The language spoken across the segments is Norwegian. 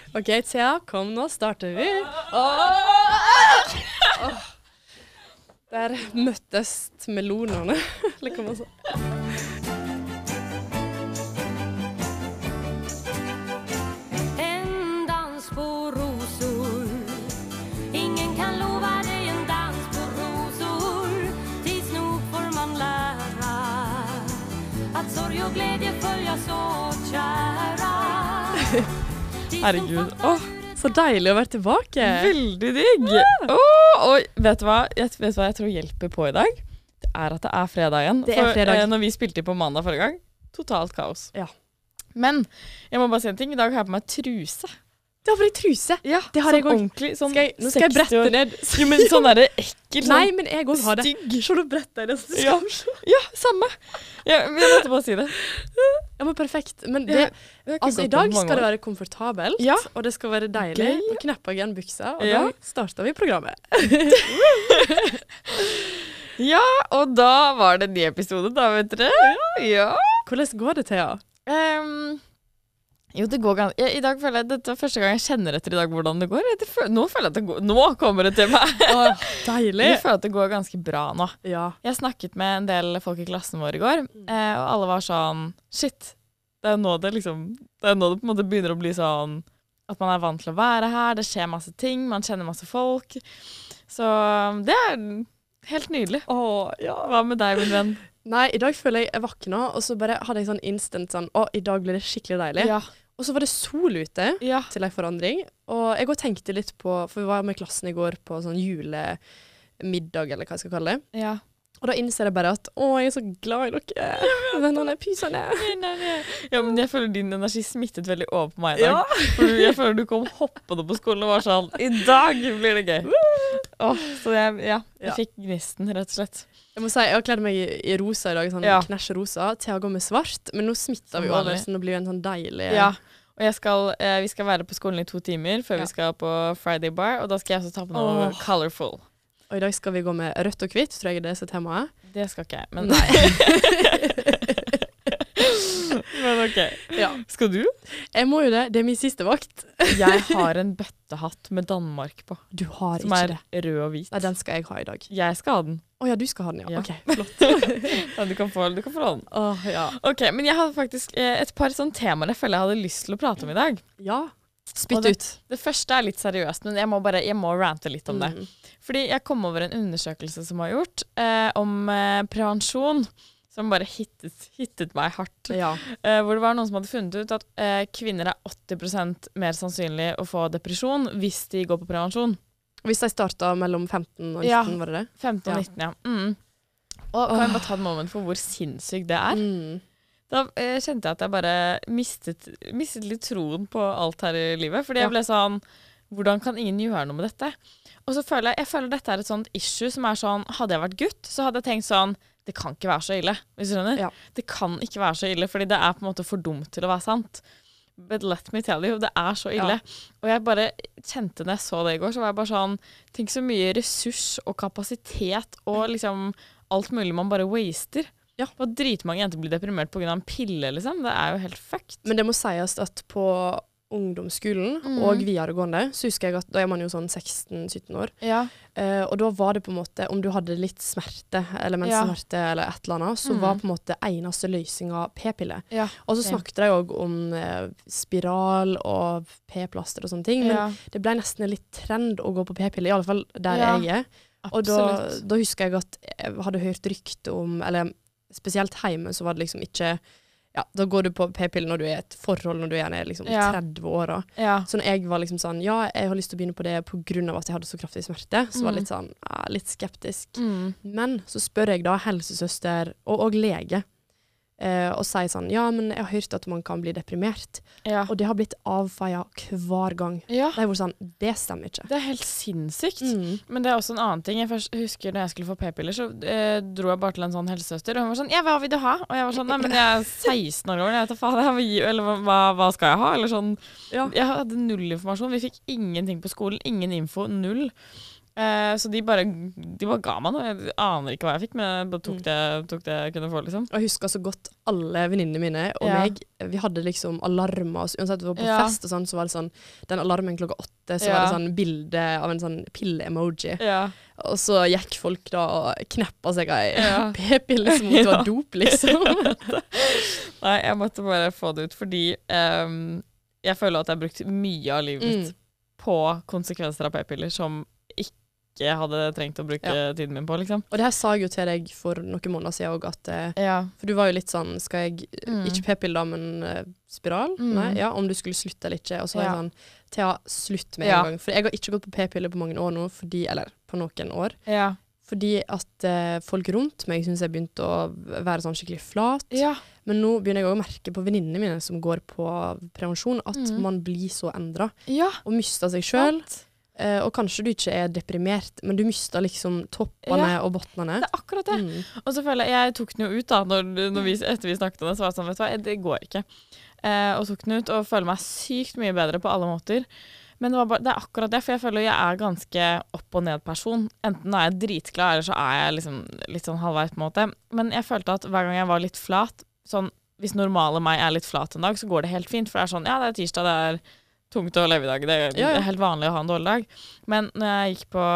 Ok, Thea, kom nå, starter vi. Der møttes melonerne, eller hva man sa. En dans på rosor. Ingen kan lova dig en dans på rosor. Tids nog får man lära att sorg och glädje följas åt kära. Herregud. Så deilig å være tilbake. Veldig digg. Og vet du hva jeg tror hjelper på i dag? Det er at det er fredag igjen. Det er fredag. Når vi spilte på mandag forrige gang, totalt kaos. Ja. Men jeg må bare si en ting. I dag har jeg på meg truse. Det har vært truse. Ja, det har jeg også. Ordentlig. Sånn Nå skal jeg brette ned. Jo, men sånn der ekkel. Sånn Nei, men jeg også har det. stygg. Se, du bretter det. Ja, samme. Ja, jeg måtte bare si det. Ja, men perfekt. Men det, altså, i dag skal det være komfortabelt, Ja. og det skal være deilig. Gøy. Nå knepper jeg igjen buksa, og Ja. da starter vi programmet. Ja, og da var det en ny episode da, vet dere. Ja. Hvordan går det, Thea? Jo, det går ganske... I dag føler jeg, dette var første gang jeg kjenner etter i dag hvordan det går. Nå føler jeg at det går... Nå kommer det til meg. Deilig. Jeg føler at det går ganske bra nå. Ja. Jeg snakket med en del folk i klassen vår i går, og alle var sånn, shit, det er jo nå det liksom, det er nå det på en måte begynner å bli sånn, at man er vant til å være her, det skjer masse ting, man kjenner masse folk. Så det er helt nydelig. Ja. Hva med deg, min venn? Nei, i dag føler jeg våkna, og så bare hadde jeg sånn instant sånn, i dag blir det skikkelig deilig. Ja. Og så var det sol ute Ja. til en forandring, og jeg også tenkte litt på, for vi var med klassen i går på sånn julemiddag, eller hva jeg skal kalle det. Ja. Og da innser jeg bare at, jeg er så glad i dere, vennerne, pysene. Ja, men jeg føler din energi smittet veldig over på meg i dag. Ja. For jeg føler du kom hoppende på skolen og var sånn, i dag blir det gøy. Så jeg fikk gnisten, rett og slett. Jeg må si, jeg har kledd meg i rosa i dag, sånn knæsj rosa, til å gå med svart, men nå smitter vi jo over, så nå blir det en sånn deilig... Ja, og vi skal være på skolen i 2 timer før vi skal på Friday Bar, og da skal jeg også ta på noe colorful. Og i dag skal vi gå med rødt og hvitt, tror jeg det er så temaet. Det skal ikke jeg, men nei. Men ok. Ja. Skal du? Jeg må jo det, det er min siste vakt. Jeg har en bøttehatt med Danmark på. Du har som ikke det. Som er rød og hvit. Nei, den skal jeg ha i dag. Jeg skal ha den. Ja, du skal ha den, ja. Ja. Ok, flott. Ja, du kan få den. Ja. Ok, men jeg hadde faktisk et par sånne temaer jeg føler jeg hadde lyst til å prate om i dag. Ja. Spytt ut. Det første er litt seriøst, men jeg må rante litt om det. Fordi jeg kom over en undersøkelse som var gjort om prevensjon, som bare hittet meg hardt. Ja. Hvor det var noen som hadde funnet ut at kvinner er 80% mer sannsynlig å få depresjon hvis de går på prevensjon. Hvis de startet mellom 15 og 19, var det det? 15 og 19, ja. Og kan jeg bare ta et moment for hvor sinnssykt det er? Da kjente jeg at jeg bare mistet litt troen på alt her i livet. Fordi jeg ble sånn, hvordan kan ingen gjøre noe med dette? Og så føler jeg dette er et sånt issue som er sånn, hadde jeg vært gutt, så hadde jeg tenkt sånn, det kan ikke være så ille, hvis du skjønner? Ja. Det kan ikke være så ille, fordi det er på en måte for dumt til å være sant. But let me tell you, det er så ille. Ja. Og jeg bare kjente når jeg så det i går, så var jeg bare sånn, tenk så mye ressurs og kapasitet og liksom alt mulig man bare waster. Ja. Og dritmange jenter blir deprimert på grunn av en pille, liksom. Det er jo helt fucked. Men det må sies at på ungdomsskolen og videregående, så husker jeg at da er man jo sånn 16-17 år. Ja. Og da var det på en måte, om du hadde litt smerte, eller menssmerte, eller et eller annet, så var på en måte eneste løsninga p-pille. Ja. Og så snakket jeg også om spiral og p-plaster og sånne ting, men det ble nesten en litt trend å gå på p-pille, i alle fall der jeg er. Og da husker jeg at jeg hadde hørt rykte om, eller spesielt hjemme, så var det liksom ikke... Ja, da går du på p-pille når du er i et forhold, når du er liksom 30 år. Så når jeg var liksom sånn, jeg har lyst til å begynne på det på grunn av at jeg hadde så kraftig smerte, så var jeg litt sånn, litt skeptisk. Men så spør jeg da helsesøster og lege, og sier sånn, men jeg har hørt at man kan bli deprimert. Og det har blitt avfeiet hver gang. Det er jo sånn, det stemmer ikke. Det er helt sinnssykt. Men det er også en annen ting. Jeg husker når jeg skulle få p-piller, så dro jeg bare til en sånn helsesøster, og hun var sånn, hva vil du ha? Og jeg var sånn, nei, men jeg er 16 år gammel, jeg vet da faen, eller hva skal jeg ha? Eller sånn, jeg hadde null informasjon. Vi fikk ingenting på skolen, ingen info, null. Så de bare ga meg noe. Jeg aner ikke hva jeg fikk, men jeg bare tok det jeg kunne få, liksom. Jeg husker så godt alle venninnene mine og meg. Vi hadde liksom alarmer. Uansett vi var på fest og sånn, så var det sånn, den alarmen klokka 8, så var det sånn bilde av en sånn pille-emoji. Og så gikk folk da og kneppa seg av p-piller som om det var dop, liksom. Nei, jeg måtte bare få det ut, fordi jeg føler at jeg har brukt mye av livet mitt på konsekvenser av p-piller som ikke hadde trengt å bruke tiden min på, liksom. Og det her sa jeg jo til deg for noen måneder siden også, at for du var jo litt sånn, skal jeg ikke p-piller da, men spiral? Nei, om du skulle slutte eller ikke. Og så var jeg sånn, Thea, slutt med en gang. For jeg har ikke gått på p-piller på mange år nå, eller på noen år. Fordi at folk rundt meg synes jeg begynte å være sånn skikkelig flat. Men nå begynner jeg også å merke på venninnene mine som går på prevensjon, at man blir så endret. Og mister seg selv. Og kanskje du ikke er deprimert, men du mister liksom toppene og bottene. Det er akkurat det. Og så føler jeg tok den jo ut da, etter vi snakket om det, så var det sånn, vet du hva, det går ikke. Og tok den ut, og føler meg sykt mye bedre på alle måter. Men det er akkurat det, for jeg føler jeg er ganske opp- og ned-person. Enten er jeg dritglad, eller så er jeg liksom litt sånn halvveis på en måte. Men jeg følte at hver gang jeg var litt flat, sånn, hvis normale meg er litt flat en dag, så går det helt fint, for det er sånn, det er tirsdag, det er tungt å leve i dag. Det er helt vanlig å ha en dårlig dag. Men når jeg gikk på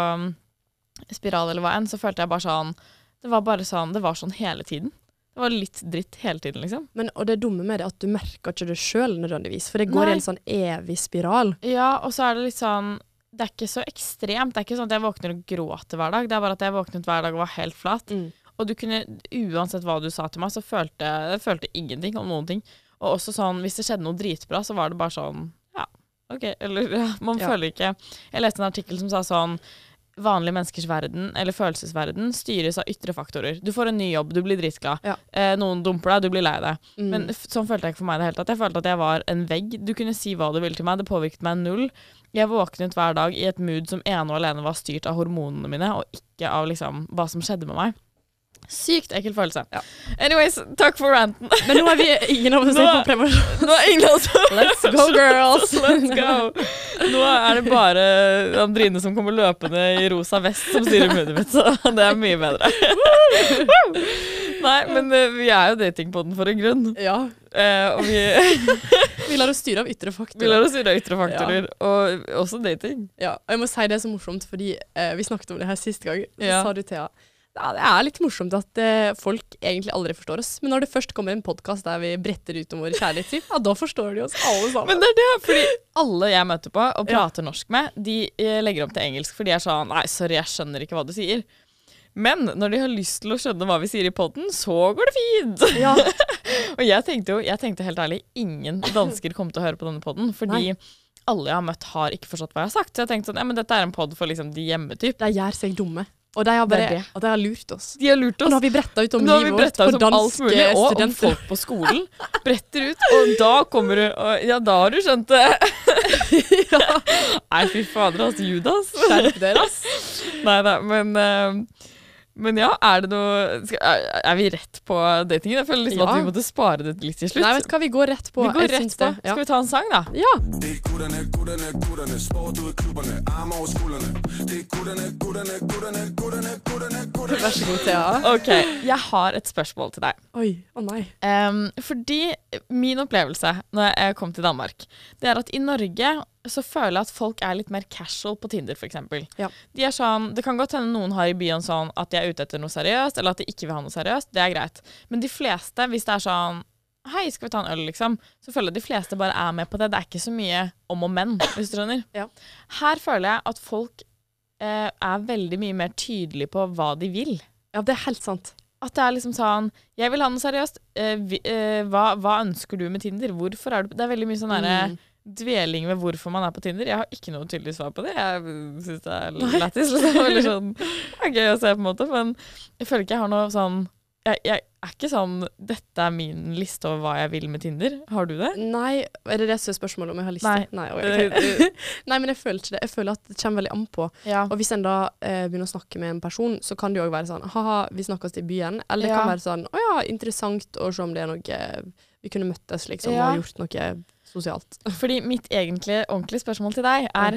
spiral eller hva enn, så følte jeg bare sånn, det var sånn hele tiden. Det var litt dritt hele tiden, liksom. Men, og det dumme med det at du merker ikke det selv nødvendigvis, for det går i en sånn evig spiral. Ja, og så er det litt sånn, det er ikke så ekstremt. Det er ikke sånn at jeg våkner og gråter hver dag. Det er bare at jeg våknet hver dag og var helt flat. Og du kunne, uansett hva du sa til meg, så følte jeg ingenting om noen ting. Og også sånn, hvis det skjedde noe dritbra, så var det bare sånn, ok, eller man føler ikke. Jeg leste en artikkel som sa sånn, vanlige menneskers verden, eller følelsesverden, styres av ytre faktorer. Du får en ny jobb, du blir dritglad. Noen dumper deg, du blir lei deg. Men sånn følte jeg ikke for meg det helt. Jeg følte at jeg var en vegg. Du kunne si hva du ville til meg, det påvirket meg null. Jeg våknet hver dag i et mood som ene og alene var styrt av hormonene mine, og ikke av liksom hva som skjedde med meg. Sykt ekkel følelse. Anyways, takk for ranten. Men nå er vi ingen av oss på prevensjon. Nå er ingen av oss. Let's go, girls. Let's go. Nå er det bare Andrine som kommer løpende i rosa vest som styrer munnen mitt, så det er mye bedre. Nei, men vi er jo datingpodden for en grunn. Og vi lar oss styre av ytre faktorer. Og også dating. Ja, og jeg må si det er så morsomt, fordi vi snakket om det her siste gang, så sa du, Thea, det er litt morsomt at folk egentlig aldri forstår oss. Men når det først kommer en podcast der vi bretter ut om våre kjærlighetsliv, da forstår de oss alle sammen. Men det er det, fordi alle jeg møter på og prater norsk med, de legger om til engelsk, for de er sånn, nei, sorry, jeg skjønner ikke hva du sier. Men når de har lyst til å skjønne hva vi sier i podden, så går det fint. Og jeg tenkte helt ærlig, ingen dansker kom til å høre på denne podden, fordi alle jeg har møtt har ikke forstått hva jeg har sagt. Så jeg tenkte sånn, men dette er en podd for liksom de hjemmetyp. De gjør seg dumme. Og de har lurt oss. De har lurt oss. Og nå har vi brettet ut om livet vårt på danske studenter. Og om folk på skolen. Bretter ut, og da kommer du, og da har du skjønt det. Nei, fy fader, altså, Judas. Skjerp dere, ass. Neida, men ja, er det noe er vi rett på datingen? Jeg føler liksom at vi måtte spare det litt til slutt. Nei, vet du hva, vi går rett på. Skal vi ta en sang da? Ja. Vær så god, Thea. Ok, jeg har et spørsmål til deg. Oi, nei. Fordi min opplevelse når jeg kom til Danmark, det er at i Norge så føler jeg at folk er litt mer casual på Tinder, for eksempel. De er sånn, det kan godt hende noen har i byen sånn at de er ute etter noe seriøst, eller at de ikke vil ha noe seriøst, det er greit. Men de fleste, hvis det er sånn, hei, skal vi ta en øl, liksom, så føler jeg de fleste bare er med på det. Det er ikke så mye om og men, hvis du skjønner. Her føler jeg at folk er veldig mye mer tydelige på hva de vil. Ja, det er helt sant. At det er liksom sånn, jeg vil ha noe seriøst, hva ønsker du med Tinder? Hvorfor er du, det er veldig mye sånn der dveling med hvorfor man er på Tinder. Jeg har ikke noe tydelig svar på det. Jeg synes det er lættis. Det er veldig sånn, det er gøy å se på en måte, men jeg føler ikke jeg har noe sånn, jeg er ikke sånn, dette er min liste over hva jeg vil med Tinder. Har du det? Nei, er det som er spørsmålet om jeg har liste? Nei, okay. Nei, men jeg føler ikke det. Jeg føler at det kommer veldig an på. Og hvis en da begynner å snakke med en person, så kan det jo også være sånn, haha, vi snakkes i byen. Eller det kan være sånn, åja, interessant å se om det er noe, vi kunne møttes liksom, og gjort noe sosialt. Fordi mitt ordentlige spørsmål til deg er,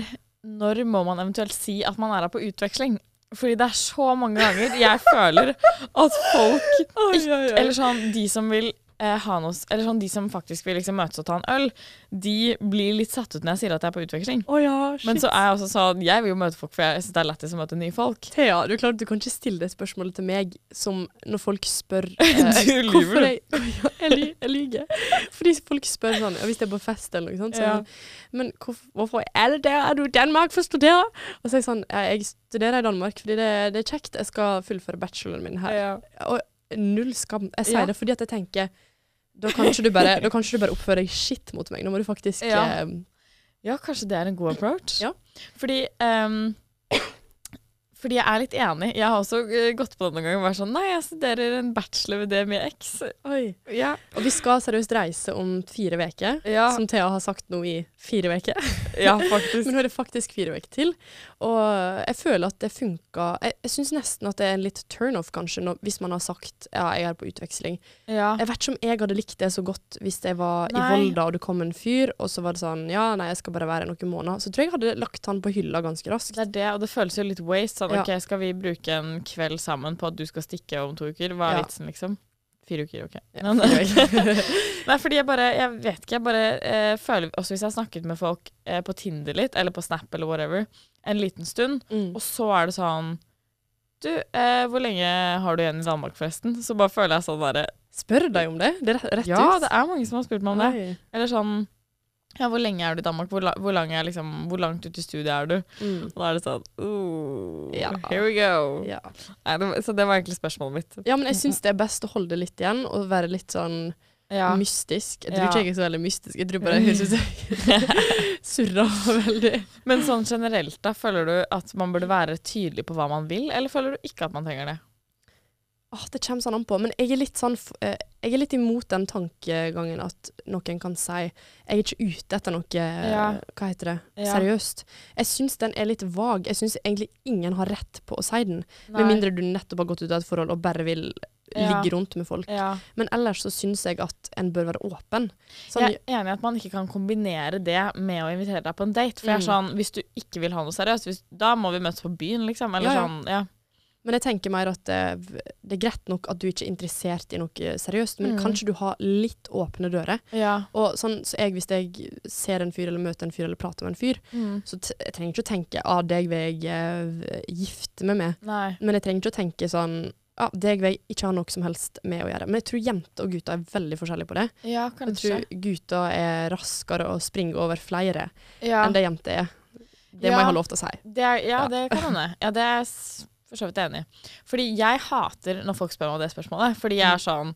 når må man eventuelt si at man her på utveksling? Fordi det så mange ganger jeg føler at folk ikke, eller sånn, de som vil ha noe, eller sånn, de som faktisk vil liksom møtes og ta en øl, de blir litt satt ut når jeg sier at jeg på utveksling. Men så jeg også sånn, jeg vil jo møte folk, for jeg synes det lettest å møte nye folk. Thea, du kan ikke stille det spørsmålet til meg som når folk spør du lyver. Jeg lyger. Fordi folk spør sånn, hvis det på fest eller noe sånt, så men hvorfor det der? Er du i Danmark for å studere? Og så jeg sånn, jeg studerer i Danmark fordi det kjekt, jeg skal fullføre bacheloren min her. Og null skam. Jeg sier det fordi at jeg tenker da kan ikke du bare oppføre deg shit mot meg. Nå må du faktisk Ja, kanskje det en god approach. Ja. Fordi jeg litt enig. Jeg har også gått på det noen ganger og vært sånn, nei, jeg studerer en bachelor ved DMX. Oi. Ja. Og vi skal seriøst reise om 4 veker, som Thea har sagt nå i 4 veker. Ja, faktisk. Men nå det faktisk 4 veker til. Og jeg føler at det funker. Jeg synes nesten at det en litt turn-off kanskje, hvis man har sagt, ja, jeg på utveksling. Ja. Jeg vet ikke om jeg hadde likt det så godt hvis jeg var i Volda og det kom en fyr, og så var det sånn, ja, nei, jeg skal bare være noen måneder. Så tror jeg hadde lagt han på hylla ganske raskt. Det det, og det føles jo litt waste. Sånn, ok, skal vi bruke en kveld sammen på at du skal stikke om 2 uker? Hva vitsen, liksom? 4 uker, ok. Nei, fordi jeg vet ikke, jeg bare føler, også hvis jeg har snakket med folk på Tinder litt, eller på Snap eller whatever, en liten stund, og så det sånn, du, hvor lenge har du igjen i Danmark forresten? Så bare føler jeg sånn der. Spør deg om det? Det rett ut? Ja, det mange som har spurt meg om det. Eller sånn, ja, hvor lenge du i Danmark? Hvor langt ut i studiet du? Og da det sånn, here we go. Ja. Nei, så det var egentlig spørsmålet mitt. Ja, men jeg synes det best å holde det litt igjen, og være litt sånn mystisk. Jeg tror ikke jeg så veldig mystisk. Jeg tror bare jeg synes jeg surrer veldig. Men sånn generelt da, føler du at man burde være tydelig på hva man vil, eller føler du ikke at man trenger det? Det kommer sånn an på, men jeg litt sånn, jeg litt imot den tankegangen at noen kan si, jeg ikke ute etter noe, hva heter det, seriøst. Jeg synes den litt vag. Jeg synes egentlig ingen har rett på å si den, med mindre du nettopp har gått ut av et forhold og bare vil ligge rundt med folk. Men ellers så synes jeg at en bør være åpen. Sånn, jeg enig i at man ikke kan kombinere det med å invitere deg på en date, for jeg sånn, hvis du ikke vil ha noe seriøst, da må vi møtes på byen, liksom, eller sånn, Men jeg tenker mer at det greit nok at du ikke interessert i noe seriøst, men kanskje du har litt åpne dører. Og sånn, så hvis jeg ser en fyr, eller møter en fyr, eller prater med en fyr, så jeg trenger ikke å tenke, deg vil jeg gifte meg med. Men jeg trenger ikke å tenke sånn, deg vil jeg ikke ha noe som helst med å gjøre. Men jeg tror jenter og gutter veldig forskjellige på det. Ja, kanskje. Jeg tror gutter raskere å springe over flere enn det jenter Det må jeg ha lov til å si. Det kan hende. Ja, det for så vidt enig. Fordi jeg hater når folk spør meg om det spørsmålet, fordi jeg sånn,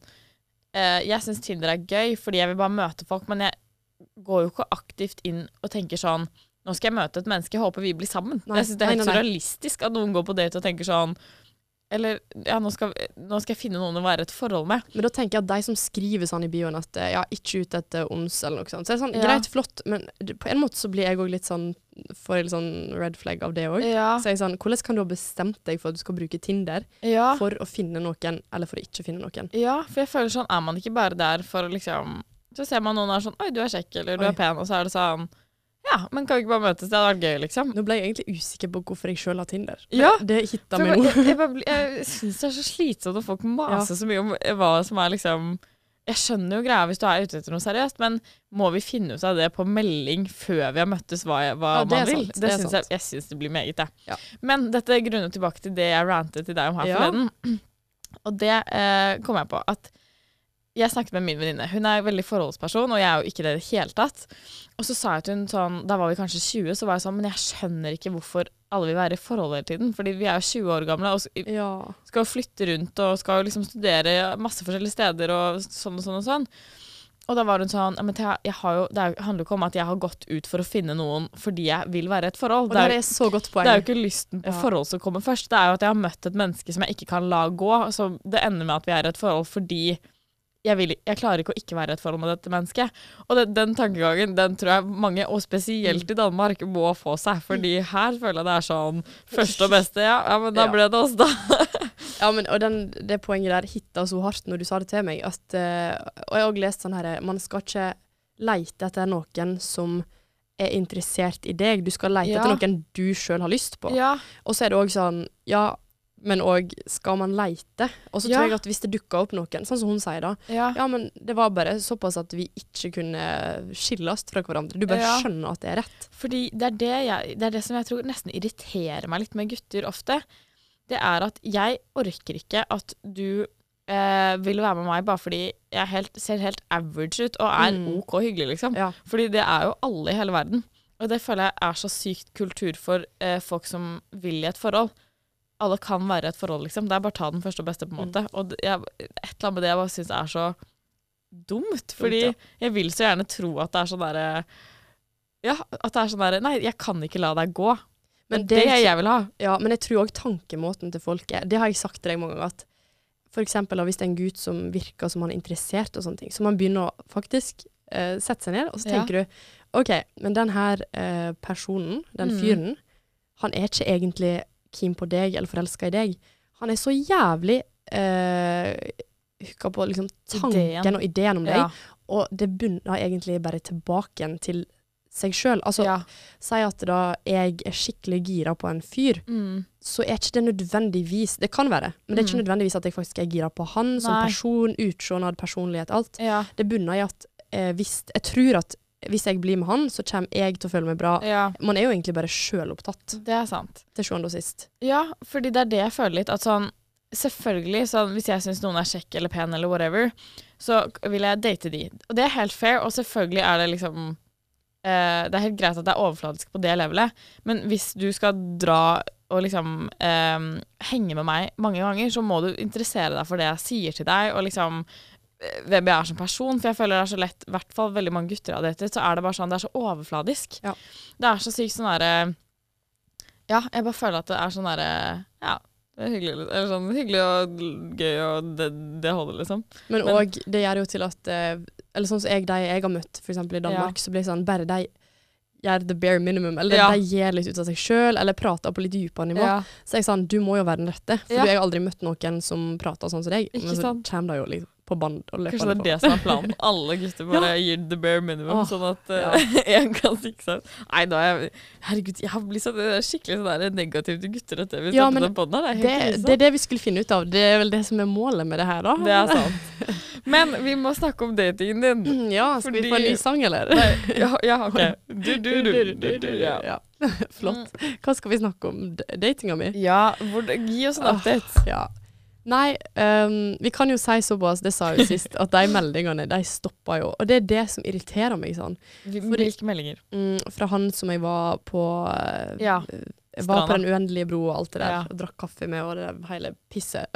jeg synes Tinder gøy, fordi jeg vil bare møte folk, men jeg går jo ikke aktivt inn og tenker sånn, nå skal jeg møte et menneske, jeg håper vi blir sammen. Jeg synes det helt surrealistisk at noen går på date og tenker sånn, eller, nå skal jeg finne noen å være et forhold med. Men da tenker jeg at de som skriver sånn i bioen at ikke ut etter ons eller noe sånt, så det sånn, greit, flott, men på en måte så blir jeg også litt sånn, får jeg litt sånn red flag av det også. Så jeg sånn, hvordan kan du ha bestemt deg for at du skal bruke Tinder for å finne noen, eller for å ikke finne noen? Ja, for jeg føler sånn, man ikke bare der for å liksom, så ser man noen sånn, oi, du kjekk, eller du pen, og så det sånn, ja, men kan vi ikke bare møtes? Det hadde vært gøy, liksom. Nå ble jeg egentlig usikker på hvorfor jeg selv har Tinder. Det hittet meg nå. Jeg synes det så slitsomt at folk maser så mye om hva som liksom... Jeg skjønner jo greia hvis du ute etter noe seriøst, men må vi finne ut av det på melding før vi har møttes hva man vil? Det synes jeg synes det blir meget, det. Men dette grunner tilbake til det jeg rantet til deg om her forleden. Og det kom jeg på at jeg snakket med min venninne. Hun veldig forholdsperson, og jeg jo ikke det i det hele tatt. Og så sa jeg til hun sånn, da var vi kanskje 20, så var jeg sånn, men jeg skjønner ikke hvorfor alle vil være i forhold hele tiden, fordi vi jo 20 år gamle, og skal flytte rundt, og skal liksom studere masse forskjellige steder, og sånn og sånn og sånn. Og da var hun sånn, men det handler jo ikke om at jeg har gått ut for å finne noen fordi jeg vil være i et forhold. Og det så godt poeng. Det jo ikke lysten på forhold som kommer først. Det jo at jeg har møtt et menneske som jeg ikke kan la gå, så det ender med at vi i et forhold fordi jeg klarer ikke å ikke være i et forhold med dette mennesket. Og den tankegangen, den tror jeg mange, og spesielt i Danmark, må få seg, fordi her føler jeg det sånn første og beste, men da ble det oss da. Og det poenget der hittet så hardt når du sa det til meg, at, og jeg har også lest sånn her, man skal ikke leite etter noen som er interessert i deg. Du skal lete etter noen du selv har lyst på. Og så er det også sånn, men også skal man lete. Og så tror jeg at hvis det dukker opp noen, sånn som hun sier da, men det var bare såpass at vi ikke kunne skilles fra hverandre. Du bare skjønner at det er rett. Fordi det er det som jeg tror nesten irriterer meg litt med gutter ofte. Det er at jeg orker ikke at du vil være med meg bare fordi jeg ser helt average ut og er ok hyggelig, liksom. Fordi det er jo alle i hele verden. Og det føler jeg er så sykt kultur for folk som vil i et forhold. Alle kan være et forhold, liksom. Det er bare ta den første og beste på en måte. Og et eller annet med det jeg bare synes er så dumt, fordi jeg vil så gjerne tro at det er sånn der, at det er sånn der, nei, jeg kan ikke la deg gå. Men det jeg vil ha. Ja, men jeg tror også tankemåten til folk det har jeg sagt til deg mange ganger, at for eksempel hvis det er en gutt som virker som han er interessert og sånne ting, så man begynner å faktisk sette seg ned, og så tenker du, ok, men den her personen, den fyren, han er ikke egentlig keen på deg eller forelsket i deg. Han er så jævlig hukket på liksom, tanken og ideen om deg, og det bunner egentlig bare tilbake til seg selv. Altså, si at da jeg er skikkelig gira på en fyr, så er ikke det nødvendigvis, det kan være, men det er ikke nødvendigvis at jeg faktisk er gira på han som person, utsjånad, personlighet, alt. Det bunner i at jeg tror at hvis jeg blir med han, så kommer jeg til å føle meg bra. Man er jo egentlig bare selv opptatt. Det er sant. Til sjuende og sist. Ja, fordi det er det jeg føler litt, at sånn, selvfølgelig, sånn, hvis jeg synes noen er kjekk eller pen eller whatever, så vil jeg date de. Og det er helt fair, og selvfølgelig er det liksom, det er helt greit at det er overfladisk på det levelet, men hvis du skal dra og liksom henge med meg mange ganger, så må du interessere deg for det jeg sier til deg, og liksom hvem jeg er som person, for jeg føler det er så lett, i hvert fall veldig mange gutter av dette, så er det bare sånn, det er så overfladisk. Det er så sykt sånn der, jeg bare føler at det er sånn der, det er hyggelig, eller sånn hyggelig og gøy, og det holder liksom. Men også, det gjør jo til at, eller sånn som jeg har møtt, for eksempel i Danmark, så blir det sånn, bare de gjør the bare minimum, eller de gir litt ut av seg selv, eller prater på litt dypere nivå. Så jeg sånn, du må jo være den rette, for jeg har aldri møtt noen som prater sånn som deg, men så kommer det jo liksom på band og løper. Kanskje det er det som er planen. Alle gutter bare gir the bare minimum, sånn at en kan sikre seg. Nei, da herregud, jeg har blitt sånn skikkelig sånn der negativ til gutter etter vi startet den podden her. Det er det vi skulle finne ut av. Det er vel det som er målet med det her da. Det er sant. Men vi må snakke om datingen din. Ja, skal vi få en ny sang, eller? Ja, ok. Du. Ja. Flott. Hva skal vi snakke om? Datinga mi? Ja, gi oss en update. Ja. Nei, vi kan jo si såpass, det sa jeg jo sist, at de meldingene, de stopper jo. Og det er det som irriterer meg sånn. Hvilke meldinger? Fra han som jeg var på, jeg var på den uendelige bro og alt det der, og drakk kaffe med, og det hele pisset.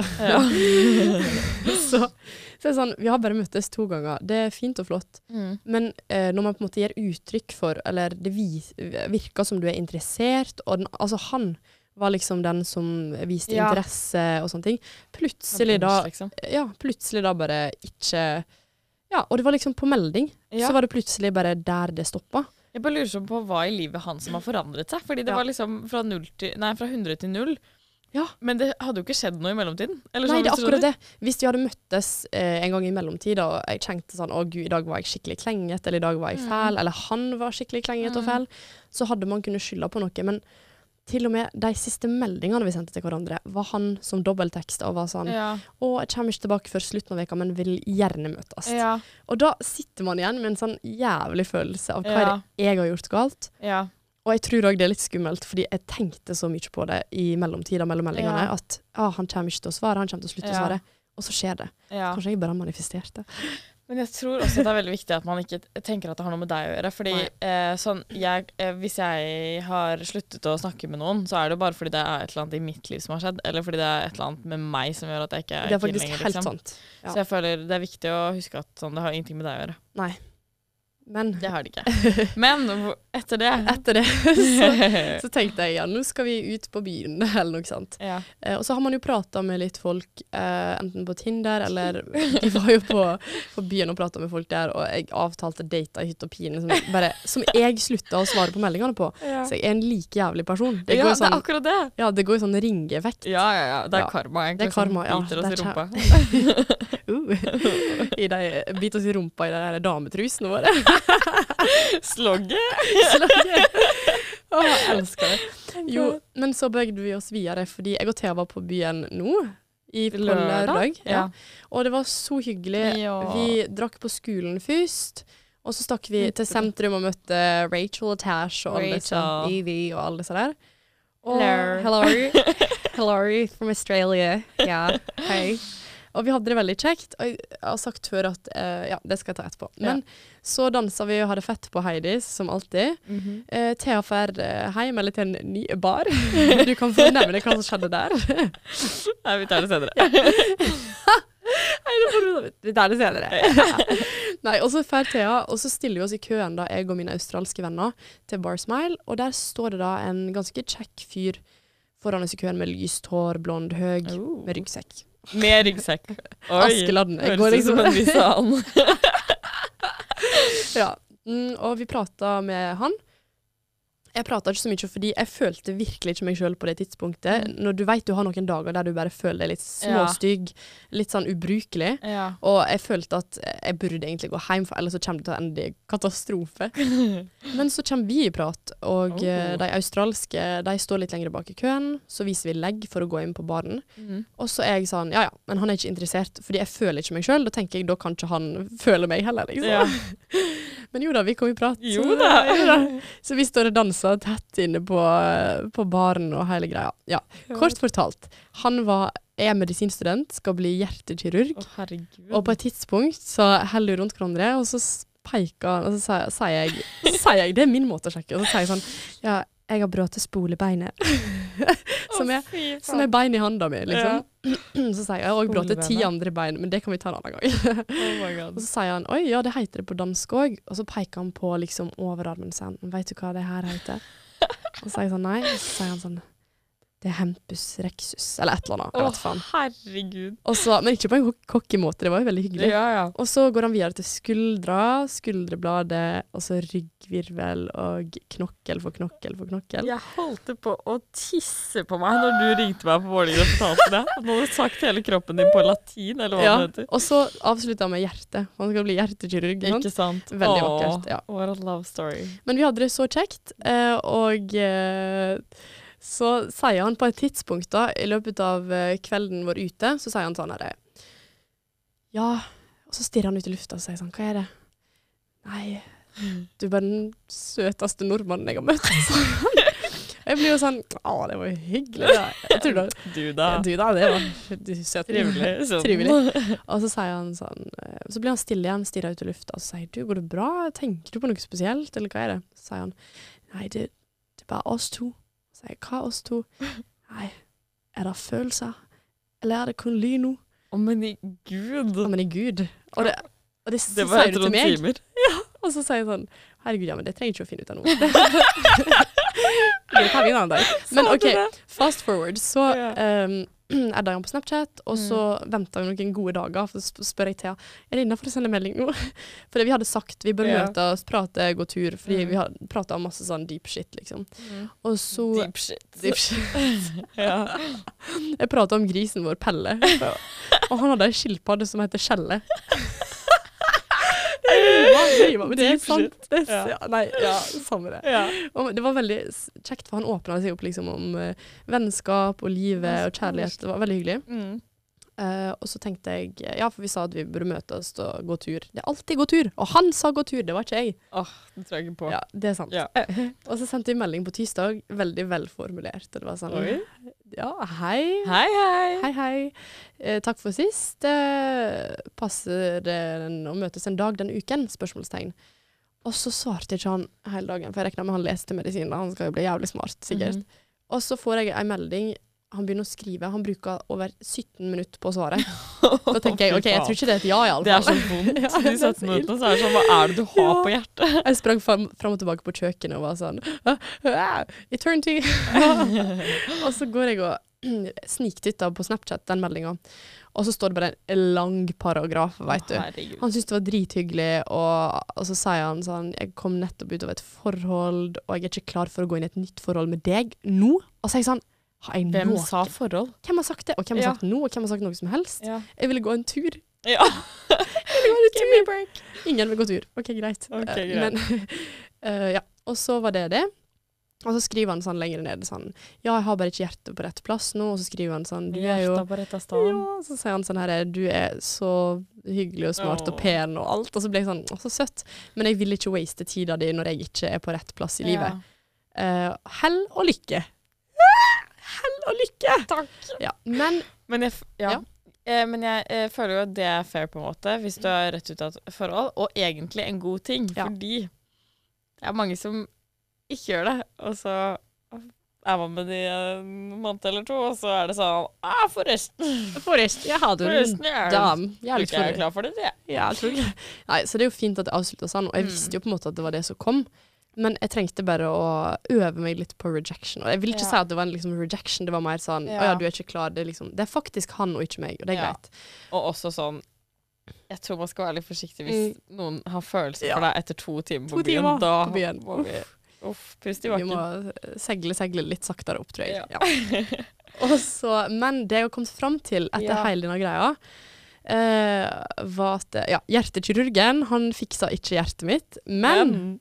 Så det er sånn, vi har bare møttes 2 ganger. Det er fint og flott. Men når man på en måte gir uttrykk for, eller det virker som du er interessert, og altså han var liksom den som viste interesse og sånne ting. Plutselig da bare ikke, og det var liksom på melding, så var det plutselig bare der det stoppet. Jeg bare lurer sånn på hva i livet han som har forandret seg, fordi det var liksom fra 100 til 0. Ja. Men det hadde jo ikke skjedd noe i mellomtiden. Eller nei, sånn, det er akkurat det. Hvis de hadde møttes en gang i mellomtid, og jeg tenkte sånn, å Gud, i dag var jeg skikkelig klenget, eller i dag var jeg fæl, eller han var skikkelig klenget og fæl, så hadde man kunnet skylde på noe, men til og med de siste meldingene vi sendte til hverandre, var han som dobbelttekst og var sånn, å, jeg kommer ikke tilbake før slutten av veka, men vil gjerne møtes. Og da sitter man igjen med en sånn jævlig følelse av hva jeg har gjort galt. Og jeg tror også det er litt skummelt, fordi jeg tenkte så mye på det i mellomtida mellom meldingene, at han kommer ikke til å svare, han kommer til å slutte å svare, og så skjer det. Kanskje jeg bare har manifestert det. Men jeg tror også det er veldig viktig at man ikke tenker at det har noe med deg å gjøre, fordi sånn, hvis jeg har sluttet å snakke med noen, så er det jo bare fordi det er et eller annet i mitt liv som har skjedd, eller fordi det er et eller annet med meg som gjør at jeg ikke er det er faktisk lenger, helt sant. Så jeg føler det er viktig å huske at sånn, det har ingenting med deg å gjøre. Nei. Men det har det ikke. Men etter det så tenkte jeg, nå skal vi ut på byen, eller noe sånt. Og så har man jo pratet med litt folk, enten på Tinder, eller de var jo på byen og pratet med folk der, og jeg avtalte date i hytt og pine, som jeg sluttet å svare på meldingene på. Så jeg er en like jævlig person. Det det er akkurat det. Ja, det går i sånn ringeffekt. Ja. Det er karma, egentlig. Det er karma, som biter oss i rumpa. Bit oss i rumpa i de der dametrusene våre. Slogget. Jeg elsker det. Jo, men så bøgde vi oss videre, fordi jeg og Thea var på byen nå, på lørdag. Ja. Og det var så hyggelig. Ja. Vi drakk på skolen først, og så stakk vi til sentrum og møtte Rachel og Tash og alle sånn, Evie og alle disse der. Hello from Australia. Ja, hei. Og vi hadde det veldig kjekt, og jeg har sagt før at, det skal jeg ta etterpå. Men så danset vi og hadde fett på Heidis, som alltid. Thea fer hjem eller til en ny bar. Du kan få nevne hva som skjedde der. Nei, vi tar det senere. Vi tar det senere. Nei, og så fer Thea, og så stiller vi oss i køen da, jeg og mine australske venner, til Bar Smile, og der står det da en ganske kjekk fyr foran oss i køen med lyst hår, blond, høg, med ryggsekk. Med ryggsekk. Askeladden. Høres ut som en viss annen. Ja, og vi pratet med han. Jeg pratet ikke så mye, fordi jeg følte virkelig ikke meg selv på det tidspunktet. Når du vet du har noen dager der du bare føler deg litt småstygg, litt sånn ubrukelig, og jeg følte at jeg burde egentlig gå hjem, for ellers så kommer det til å ende i katastrofe. Men så kommer vi i prat, og de australske, de står litt lenger bak i køen, så viser vi legg for å gå inn på baren. Og så er jeg sånn, ja, men han er ikke interessert, fordi jeg føler ikke meg selv, da tenker jeg, da kan ikke han føle meg heller, liksom. Men jo da, vi kom i prat. Jo da. Så vi står og danser tett inne på baren og hele greia. Ja, kort fortalt. Han er medisinstudent, skal bli hjertekirurg. Herregud. Og på et tidspunkt så heller vi rundt hverandre, og så peker han, og så sier jeg, det er min måte å sjekke, og så sier jeg sånn, ja, jeg har brått spolebeinet. som er bein i handa mi, liksom. Så sier jeg også brått 10 andre bein, men det kan vi ta en annen gang. Oh my God. Og så sier han, oi, ja, det heter det på dansk også. Og så peker han på liksom overarmen sin. Vet du hva det her heter? Og så sier jeg sånn, nei. Og så sier han sånn, det er Hempus Rexus, eller et eller annet. Jeg vet faen. Herregud. Og så, men ikke på en cocky måte, det var jo veldig hyggelig. Ja. Og så går han videre til skuldrebladet, og så ryggvirvel, og knokkel for knokkel for knokkel. Jeg holdt på å tisse på meg når du ringte meg på morgenen og fortalte det. Nå hadde du sagt hele kroppen din på latin, eller hva det heter. Og så avsluttet han med hjerte. Han skal bli hjertekirurg. Ikke sant? Veldig vakkert, ja. What a love story. Men vi hadde det så kjekt, og så sier han på et tidspunkt da, i løpet av kvelden vår ute, så sier han sånn her, ja, og så stirrer han ut i lufta og sier sånn, hva er det? Nei, du er bare den søteste nordmannen jeg har møtt. Jeg blir jo sånn, det var jo hyggelig da. Jeg tror da. Du da, det var søt. Trivelig. Og så sier han sånn, så blir han stille igjen, stirrer ut i lufta, og så sier du, går det bra? Tenker du på noe spesielt, eller hva er det? Så sier han, nei, det er bare oss to. Så sier jeg, hva oss to? Nei, er det følelser? Eller er det kun lyd nå? Men i Gud. Men i Gud. Og det sier du til meg. Timer. Ja, og så sier jeg sånn, herregud, ja, men det trenger ikke å finne ut av noe. Det tar vi en annen dag. Men ok, fast forward, så er han på Snapchat, og så ventet vi noen gode dager, for så spør jeg Thea, er det innenfor å sende melding nå? For vi hadde sagt, vi bør møte oss, prate, gå tur, fordi vi hadde pratet om masse sånn deep shit, liksom. Og så... Deep shit. Ja. Jeg pratet om grisen vår, Pelle, og han hadde en skilpadde som heter Kjelle. Men det er sant. Samme det. Ja. Og det var veldig kjekt, for han åpnet seg opp liksom om vennskap og livet og kjærlighet. Det var veldig hyggelig. Og så tenkte jeg, ja, for vi sa at vi burde møtes og gå tur. Det er alltid gå tur, og han sa gå tur, det var ikke jeg. Det tror jeg ikke på. Ja, det er sant. Ja. Og så sendte vi melding på tirsdag, veldig velformulert, og det var sånn, ja, hei. Hei. Takk for sist. Passer det å møtes en dag den uken? Spørsmålstegn. Og så svarte ikke han hele dagen, for jeg regnet med han leste medisin, han skal jo bli jævlig smart, sikkert. Og så får jeg en melding, han begynner å skrive, han bruker over 17 minutter på å svare. Da tenker jeg, ok, jeg tror ikke det er et ja i alle fall. Det er så vondt, de 17 minuttene, så er det sånn, hva er det du har på hjertet? Jeg sprang frem og tilbake på kjøkkenet og var sånn, eternity. Og så går jeg og sniktitter på Snapchat den meldingen, og så står det bare en lang paragraf, vet du. Han synes det var drithyggelig, og så sier han sånn, jeg kom nettopp ut av et forhold, og jeg er ikke klar for å gå inn i et nytt forhold med deg nå. Og så sier jeg sånn, hvem sa forhold? Hvem har sagt det? Og hvem har sagt noe? Og hvem har sagt noe som helst? Ja. Jeg ville gå en tur. Ja. Give me a break. Ingen vil gå tur. Ok, greit. Men, ja. Og så var det. Og så skriver han sånn lenger ned sånn, ja, jeg har bare ikke hjertet på rett plass nå, og så skriver han sånn, du er jo... Hjertet på rett sted. Ja, så sier han sånn her, du er så hyggelig og smart og pen og alt, og så ble jeg sånn, så søtt, men jeg vil ikke waste tida di når jeg ikke er på rett plass i livet. Hell og lykke. Hell og lykke! Takk! Ja, men jeg føler jo at det er fair på en måte, hvis du har rett ut av et forhold, og egentlig en god ting, fordi det er mange som ikke gjør det, og så er man med de en måned eller to, og så er det sånn, forresten, jeg hadde en dam. Jeg er klar for det, det. Ja, jeg tror ikke. Nei, så det er jo fint at det avsluttes sånn, og jeg visste jo på en måte at det var det som kom, men jeg trengte bare å øve meg litt på rejection, og jeg vil ikke si at det var en liksom, rejection, det var mer sånn, åja, du er ikke klar, det er faktisk han og ikke meg, og det er greit. Og også sånn, jeg tror man skal være litt forsiktig hvis noen har følelser for deg etter 2 timer på byen, da må vi... pust i bakken. Vi må segle litt saktere opp, tror jeg. Ja. Og så, men det jeg har kommet frem til etter hele denne greia, var at hjertekirurgen, han fiksa ikke hjertet mitt, men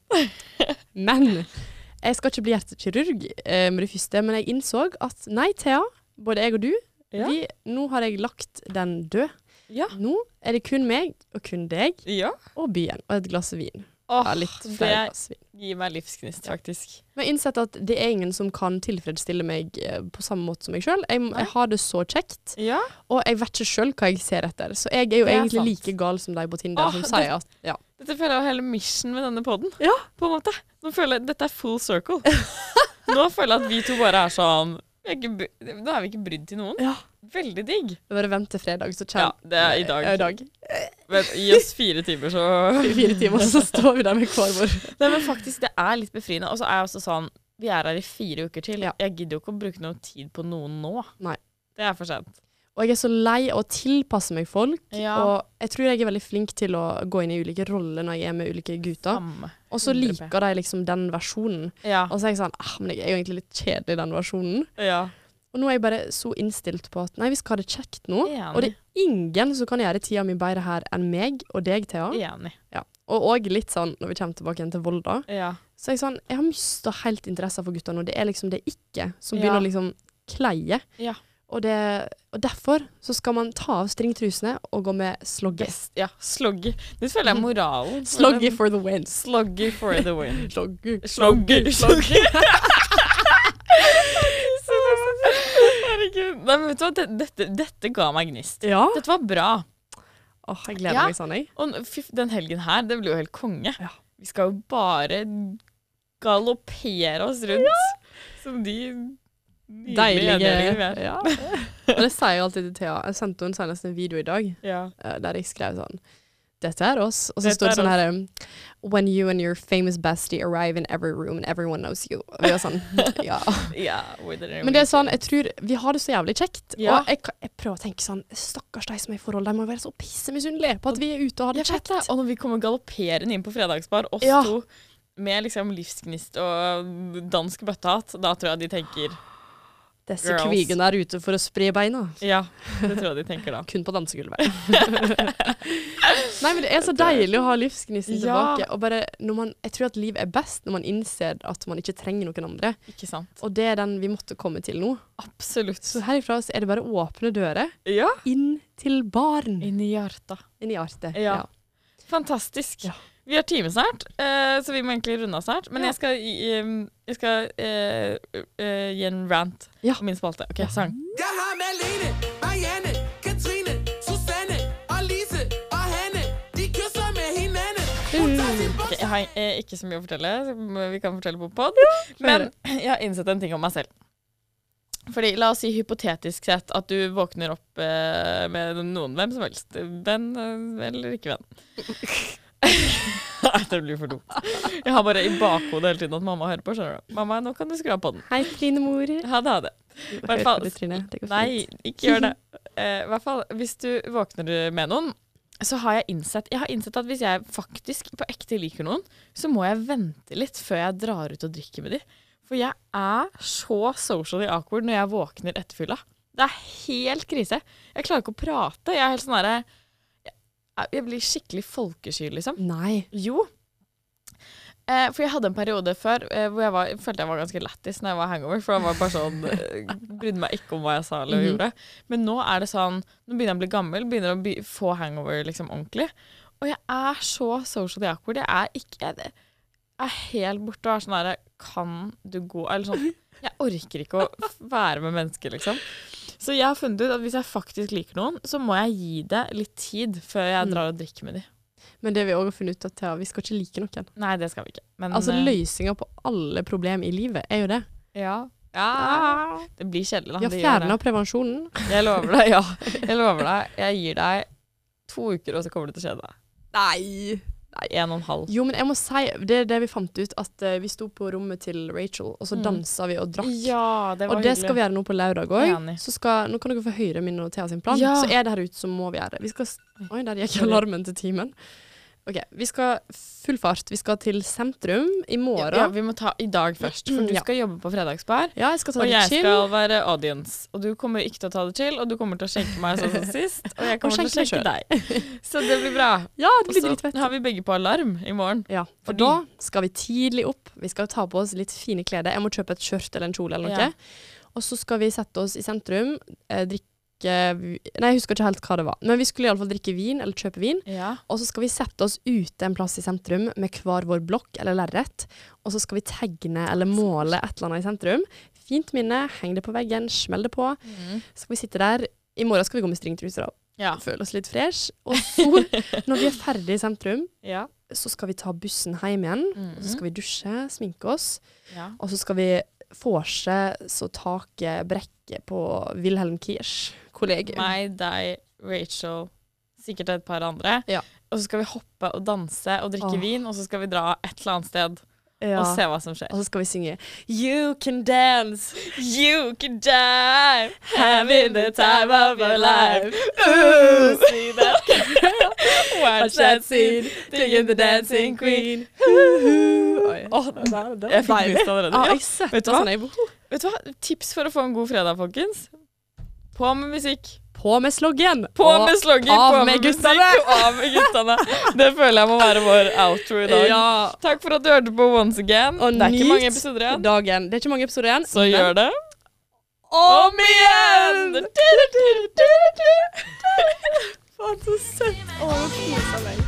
jeg skal ikke bli hjertekirurg med det første, men jeg innså at nei, Thea, både jeg og du, nå har jeg lagt den død. Nå er det kun meg og kun deg og byen og et glass vin. Litt flere glass vin. Det gir meg livsgnist, faktisk. Men jeg har innsett at det er ingen som kan tilfredsstille meg på samme måte som meg selv. Jeg har det så kjekt, og jeg vet ikke selv hva jeg ser etter. Så jeg er jo egentlig like gal som deg på Tinder, som sier at dette føler jeg jo hele mission med denne podden, på en måte. Nå føler jeg, dette er full circle. Nå føler jeg at vi to bare er sånn, nå er vi ikke brydd til noen. Veldig digg. Det var vent til fredag, så det er i dag. Men gi oss 4 timer, så... 4 timer, så står vi der med hver vår. Nei, men faktisk, det er litt befriende. Og så er jeg også sånn, vi er her i 4 uker til. Jeg gidder jo ikke å bruke noe tid på noen nå. Nei. Det er for sent. Og jeg er så lei av å tilpasse meg folk, og jeg tror jeg er veldig flink til å gå inn i ulike roller når jeg er med ulike gutter. Og så liker de liksom den versjonen. Og så er jeg sånn, men jeg er jo egentlig litt kjedelig i den versjonen. Og nå er jeg bare så innstilt på at, nei, vi skal ha det kjekt nå. Og det er ingen som kan gjøre tida mi bedre her enn meg og deg, Thea. Og også litt sånn, når vi kommer tilbake igjen til Volda, så er jeg sånn, jeg har mistet helt interesse for gutter nå. Det er liksom det ikke som begynner å liksom kleie. Og derfor så skal man ta av stringtrusene og gå med slogge. Ja, slogge. Det føler jeg moralen. Slogge for the win. Slogge for the win. Slogge. Herregud. Nei, men vet du hva? Dette ga meg gnist. Dette var bra. Jeg gleder meg sånn, jeg. Og den helgen her, det blir jo helt konge. Vi skal jo bare galoppere oss rundt som de... Deilige. Og det sier jeg alltid til Thea. Jeg sendte henne senest en video i dag, der jeg skrev sånn, dette er oss. Og så står det sånn her, when you and your famous bestie arrive in every room and everyone knows you. Og vi var sånn, Men det er sånn, jeg tror, vi har det så jævlig kjekt. Og jeg prøver å tenke sånn, stakkars de som er i forhold, de må være så pissemisunnelig på at vi er ute og har det kjekt. Og når vi kommer galopperende inn på fredagsbar, oss to, med liksom livsgnist og dansk bøttehatt, da tror jeg de tenker... Disse kvigene er ute for å spre beina. Ja, det tror jeg de tenker da. Kun på dansegulvet. Nei, men det er så deilig å ha livsgnisten tilbake. Og bare, jeg tror at liv er best når man innser at man ikke trenger noen andre. Ikke sant. Og det er den vi måtte komme til nå. Absolutt. Så herifra så er det bare å åpne dører. Inn til baren. Inn i hjertet. Ja. Fantastisk. Ja. Vi har time snart, så vi må egentlig runde oss snart. Men jeg skal gi en rant på min spalte. Ok, sang. Jeg har Malene, Marianne, Katrine, Susanne, Alice og Hanne. De kysser med hinanden. Okay, jeg har ikke så mye å fortelle, så vi kan fortelle på podd. Men jeg har innsett en ting om meg selv. Fordi, la oss si hypotetisk sett at du våkner opp med noen, hvem som helst. Venn eller ikke venn. Nei, det blir for dumt. Jeg har bare i bakhodet hele tiden at mamma hører på, skjønner du. Mamma, nå kan du skru av på den. Hei, Trine mor. Ha det. Nei, ikke gjør det. I hvert fall, hvis du våkner med noen, så har jeg innsett at hvis jeg faktisk på ekte liker noen, så må jeg vente litt før jeg drar ut og drikker med dem. For jeg er så socially awkward når jeg våkner etter fylla. Det er helt krise. Jeg klarer ikke å prate. Jeg er helt sånn der... Jeg blir skikkelig folkesky, liksom. Nei. Jo. For jeg hadde en periode før hvor jeg følte jeg var ganske lættis når jeg var hangover, for jeg var bare sånn, brydde meg ikke om hva jeg sa eller gjorde. Men nå er det sånn, nå begynner jeg å bli gammel, begynner å få hangover liksom ordentlig. Og jeg er så socially awkward. Jeg er helt borte og er sånn der, kan du gå, eller sånn, jeg orker ikke å være med mennesker, liksom. Så jeg har funnet ut at hvis jeg faktisk liker noen, så må jeg gi det litt tid før jeg drar og drikker med dem. Men det vi også har funnet ut at vi skal ikke like noen. Nei, det skal vi ikke. Men, altså løsninger på alle problemer i livet er jo det. Ja. Det blir kjedelig da. Ja, fjerner prevensjonen. Jeg lover deg, Jeg lover deg. Jeg gir deg 2 uker, og så kommer det til å skje deg. Nei, 1,5. Jo, men jeg må si, det er det vi fant ut, at vi sto på rommet til Rachel, og så danset vi og drakk. Ja, det var og det skal vi gjøre nå på lørdag også. Så nå kan dere få høre min og Thea sin plan. Så er det her ute, så må vi gjøre det. Oi, der gikk alarmen til timen. Ok, vi skal full fart. Vi skal til sentrum i morgen. Ja, vi må ta i dag først, for du skal jobbe på fredagsbar. Ja, jeg skal ta det chill. Og jeg skal være audience. Og du kommer ikke til å ta det chill, og du kommer til å skjenke meg sånn som sist. Og jeg kommer til å skjenke deg. Så det blir bra. Ja, det blir dritfett. Og så har vi begge på alarm i morgen. Ja, for da skal vi tidlig opp. Vi skal ta på oss litt fine klede. Jeg må kjøpe et skjørt eller en kjole eller noe. Ja. Og så skal vi sette oss i sentrum, drikke Nei, jeg husker ikke helt hva det var. Men vi skulle i alle fall drikke vin, eller kjøpe vin. Ja. Og så skal vi sette oss ute en plass i sentrum med hver vår blokk eller lerret. Og så skal vi tegne eller måle et eller annet i sentrum. Fint minne, heng det på veggen, smell det på. Så skal vi sitte der. I morgen skal vi gå med stringtruser og føle oss litt fresh. Og så, når vi er ferdige i sentrum, så skal vi ta bussen hjem igjen. Og så skal vi dusje, sminke oss. Og så skal vi forse så taket brekke på Wilhelm Kirsch kollegium. Meg, deg, Rachel, sikkert et par andre. Ja. Og så skal vi hoppe og danse og drikke vin, og så skal vi dra et eller annet sted og se hva som skjer. Og så skal vi synge You can dance, you can dive, having the time of your life. Ooh, see that? Watch that scene, thinking the dancing queen. Jeg fikk lyst allerede. Vet du hva? Tips for å få en god fredag, folkens. På med musikk. På med sloggen. På med sloggen. Av med guttene. Av med guttene. Det føler jeg må være vår outro i dag. Ja. Takk for at du hørte på Once Again. Og det er ikke mange episoder igjen. Dagen. Det er ikke mange episoder igjen. Så gjør det. Om igjen! Faen, så søtt. Åh, koser meg.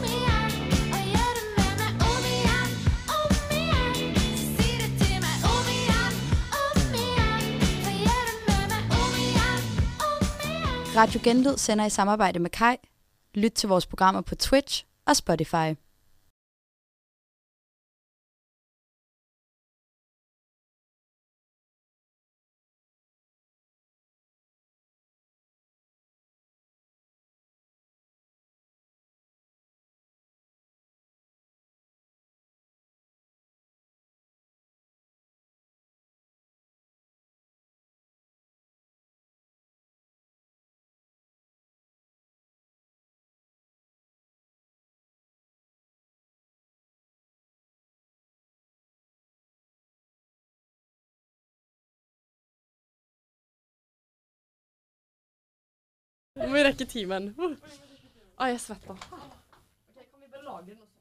Radio Genlyd sender i samarbejde med Kai. Lyt til vores programmer på Twitch og Spotify. Nå må vi rekke timen. Jeg svetter. Ok, kan vi bare lage den også?